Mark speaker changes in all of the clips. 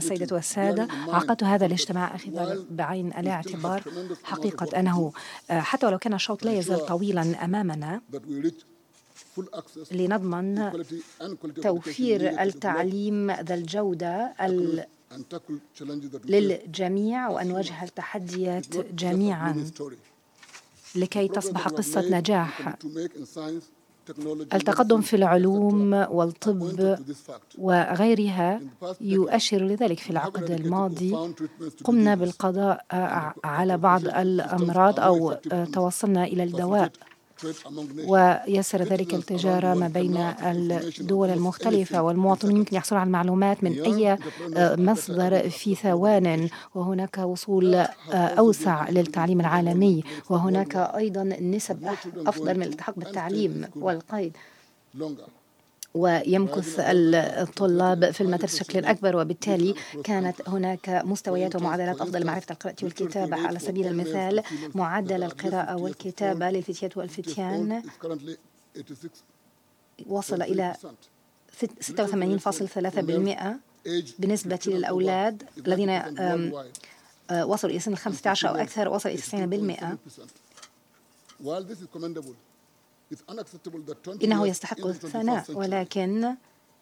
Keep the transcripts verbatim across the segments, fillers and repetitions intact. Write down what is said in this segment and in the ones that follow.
Speaker 1: السيدة والسادة، عقدت هذا الاجتماع أخذ بعين الاعتبار حقيقة أنه حتى ولو كان الشوط لا يزال طويلا أمامنا لنضمن توفير التعليم ذا الجودة للجميع وأن نواجه التحديات جميعا لكي تصبح قصة نجاح. التقدم في العلوم والطب وغيرها يؤشر لذلك. في العقد الماضي قمنا بالقضاء على بعض الأمراض أو توصلنا إلى الدواء، ويسر ذلك التجارة ما بين الدول المختلفة، والمواطنين يمكن يحصلون على المعلومات من أي مصدر في ثوان، وهناك وصول أوسع للتعليم العالمي، وهناك أيضا نسب أفضل من الالتحاق بالتعليم والقيد، ويمكث الطلاب في المدارس بشكل أكبر، وبالتالي كانت هناك مستويات ومعدلات أفضل لمعرفة القراءة والكتابة. على سبيل المثال معدل القراءة والكتابة للفتيات والفتيان وصل إلى ستة وثمانين فاصلة ثلاثة بالمئة بالنسبة للأولاد الذين وصلوا إلى سن الخمسة عشر أو أكثر، وصل إلى تسعين بالمئة. إنه يستحق الثناء، ولكن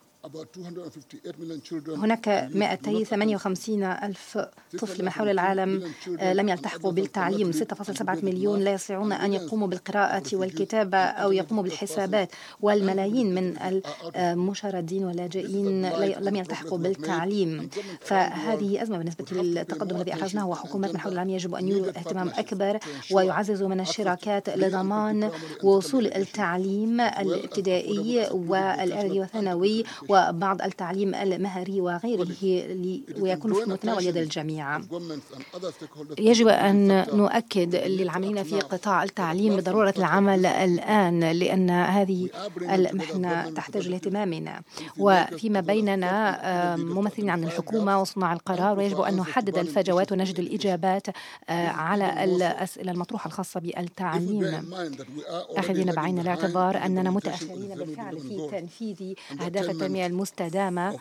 Speaker 1: هناك مئتين وثمانية وخمسين ألف طفل من حول العالم لم يلتحقوا بالتعليم. ستة فاصلة سبعة مليون لا يستطيعون أن يقوموا بالقراءة والكتابة أو يقوموا بالحسابات، والملايين من المشردين واللاجئين لم يلتحقوا بالتعليم. فهذه أزمة بالنسبة للتقدم الذي أحرزناه، وحكومات من حول العالم يجب أن يولوا اهتمام أكبر ويعززوا من الشراكات لضمان وصول التعليم الابتدائي والإعدادي والثانوي وبعض التعليم المهري وغيره ويكون في متناول يد الجميع. يجب أن نؤكد للعاملين في قطاع التعليم بضرورة العمل الآن، لأن هذه المحنة تحتاج لاهتمامنا، وفيما بيننا ممثلين عن الحكومة وصناع القرار، ويجب أن نحدد الفجوات ونجد الإجابات على الأسئلة المطروحة الخاصة بالتعليم، أخذين بعين الاعتبار أننا متأخرين بالفعل في تنفيذ أهداف التنمية المستدامة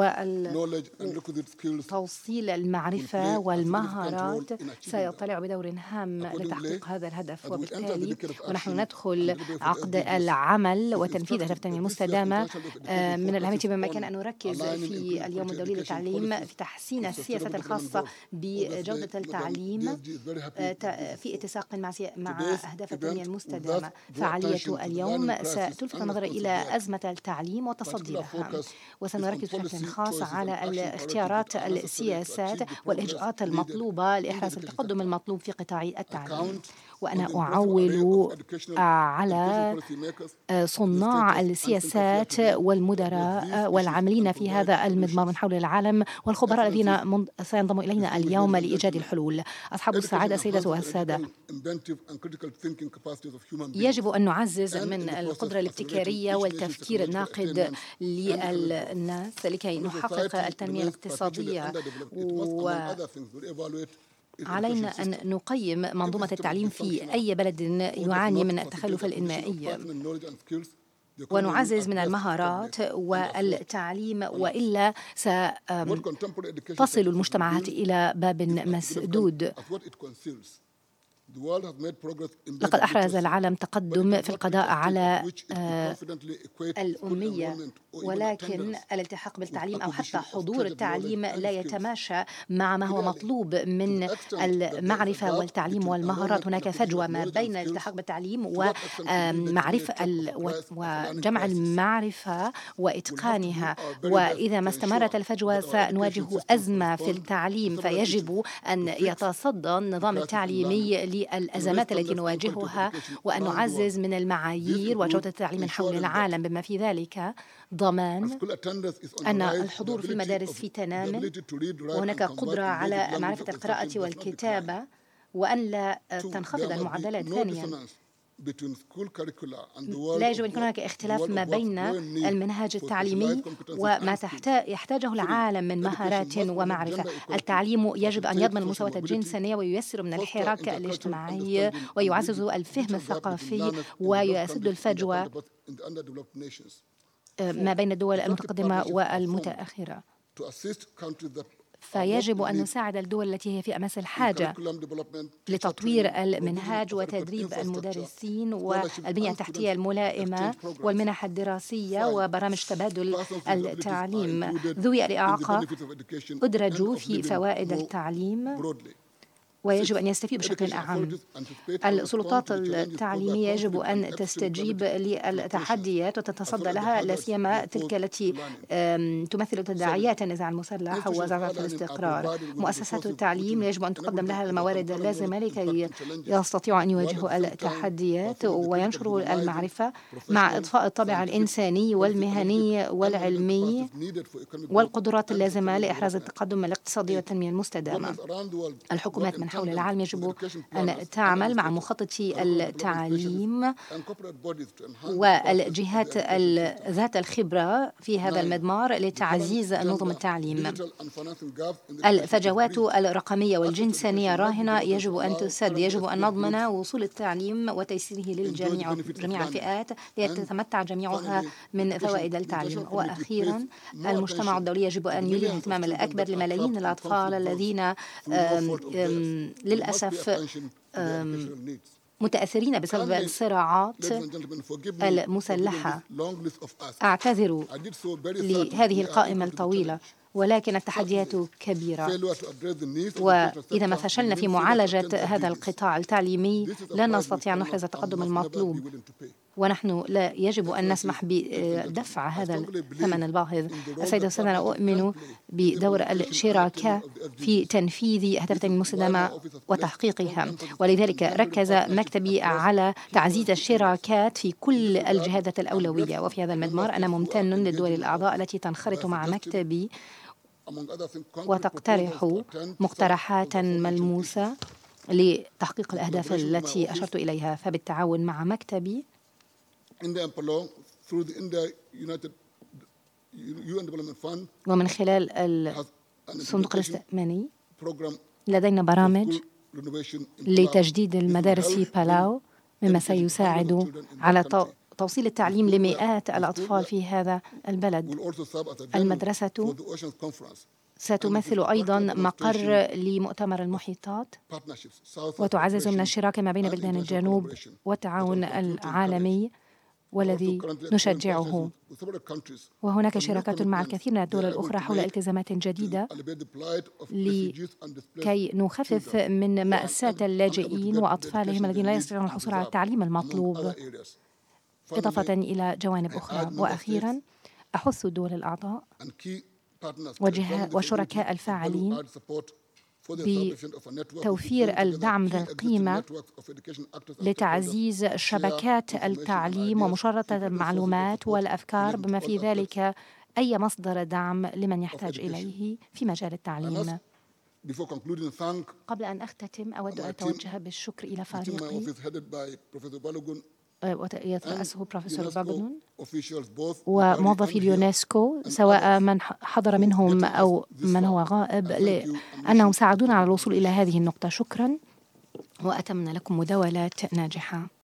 Speaker 1: وتوصيل المعرفة والمهارات سيطلع بدور هام لتحقيق هذا الهدف. وبالتالي ونحن ندخل عقد العمل وتنفيذ أهداف التنمية المستدامة من الأهمية بمكان أن نركز في اليوم الدولي للتعليم في تحسين السياسات الخاصة بجودة التعليم في اتساق مع أهداف التنمية المستدامة. فعالية اليوم ستلفت النظر إلى أزمة التعليم والتصدي لها، وسنركز بشكل خاص على الاختيارات السياسات والإجراءات المطلوبة لإحراز التقدم المطلوب في قطاع التعليم. وأنا أعول على صناع السياسات والمدراء والعاملين في هذا المضمار من حول العالم والخبراء الذين سينضموا إلينا اليوم لإيجاد الحلول. أصحاب السعادة سيدة والسادة، يجب أن نعزز من القدرة الابتكارية والتفكير الناقد للناس لكي نحقق التنمية الاقتصادية، وعلينا أن نقيم منظومة التعليم في أي بلد يعاني من التخلف الإنمائي ونعزز من المهارات والتعليم، وإلا ستصل المجتمعات إلى باب مسدود. لقد أحرز العالم تقدم في القضاء على الأمية، ولكن الالتحاق بالتعليم أو حتى حضور التعليم لا يتماشى مع ما هو مطلوب من المعرفة والتعليم والمهارات. هناك فجوة ما بين الالتحاق بالتعليم ومعرفة وجمع المعرفة وإتقانها، وإذا ما استمرت الفجوة سنواجه أزمة في التعليم. فيجب أن يتصدى النظام التعليمي الأزمات التي نواجهها، وأن نعزز من المعايير وجودة التعليم من حول العالم، بما في ذلك ضمان أن الحضور في المدارس في تنام، وهناك قدرة على معرفة القراءة والكتابة، وأن لا تنخفض المعدلات. ثانياً، لا يجب أن يكون هناك اختلاف ما بين المنهج التعليمي وما يحتاجه العالم من مهارات ومعرفة. التعليم يجب أن يضمن المساواة الجنسية وييسر من الحراك الاجتماعي ويعزز الفهم الثقافي ويسد الفجوة ما بين الدول المتقدمة والمتأخرة. فيجب أن نساعد الدول التي هي في أمس الحاجة لتطوير المنهاج وتدريب المدرسين والبنية التحتية الملائمة والمنح الدراسية وبرامج تبادل التعليم. ذوي الإعاقة أدرجوا في فوائد التعليم ويجب أن يستفيدوا بشكل أعم. السلطات التعليمية يجب أن تستجيب للتحديات وتتصدى لها، لا سيما تلك التي تمثل تداعيات النزاع المسلح وزعزعة الاستقرار. مؤسسات التعليم يجب أن تقدم لها الموارد اللازمة لكي يستطيعوا أن يواجهوا التحديات وينشروا المعرفة مع إضفاء الطابع الإنساني والمهني والعلمي والقدرات اللازمة لإحراز التقدم الاقتصادي والتنمية المستدامة. الحكومات من حول العالم يجب أن تعمل مع مخططي التعليم والجهات ذات الخبرة في هذا المضمار لتعزيز نظم التعليم. الفجوات الرقمية والجنسانية راهنة يجب أن تسد. يجب أن نضمن وصول التعليم وتيسيره للجميع جميع الفئات ليتمتع جميعها من فوائد التعليم. وأخيرا المجتمع الدولي يجب أن يولي الاهتمام الأكبر لملايين الأطفال الذين أم أم للأسف متأثرين بسبب الصراعات المسلحة. أعتذر لهذه القائمة الطويلة، ولكن التحديات كبيرة، وإذا ما فشلنا في معالجة هذا القطاع التعليمي لن نستطيع أن نحرز التقدم المطلوب، ونحن لا يجب أن نسمح بدفع هذا الثمن الباهظ. السيدة والسادة، أنا أؤمن بدور الشراكة في تنفيذ أهداف التنمية المستدامة وتحقيقها، ولذلك ركز مكتبي على تعزيز الشراكات في كل الجهات الأولوية. وفي هذا المضمار أنا ممتن للدول الأعضاء التي تنخرط مع مكتبي وتقترح مقترحات ملموسة لتحقيق الأهداف التي أشرت إليها. فبالتعاون مع مكتبي ومن خلال الصندوق الاستثماري لدينا برامج لتجديد المدارس في بالاو، مما سيساعد على توصيل التعليم لمئات الأطفال في هذا البلد. المدرسة ستمثل أيضا مقر لمؤتمر المحيطات وتعزز من الشراكة ما بين بلدان الجنوب والتعاون العالمي والذي نشجعه. وهناك شراكات مع الكثير من الدول الأخرى حول التزامات جديدة لكي نخفف من مأساة اللاجئين وأطفالهم الذين لا يستطيعون الحصول على التعليم المطلوب، إضافة إلى جوانب أخرى. وأخيرا أحث الدول الأعضاء وشركاء الفاعلين بتوفير الدعم ذا القيمة لتعزيز شبكات التعليم ومشاركة المعلومات والأفكار، بما في ذلك أي مصدر دعم لمن يحتاج إليه في مجال التعليم. قبل أن أختتم أود أن أتوجه بالشكر إلى فريقي يترأسه بروفيسور باغنون وموظفي اليونسكو، سواء من حضر منهم أو من هو غائب، لأنهم ساعدونا على الوصول إلى هذه النقطة. شكرا، وأتمنى لكم مداولات ناجحة.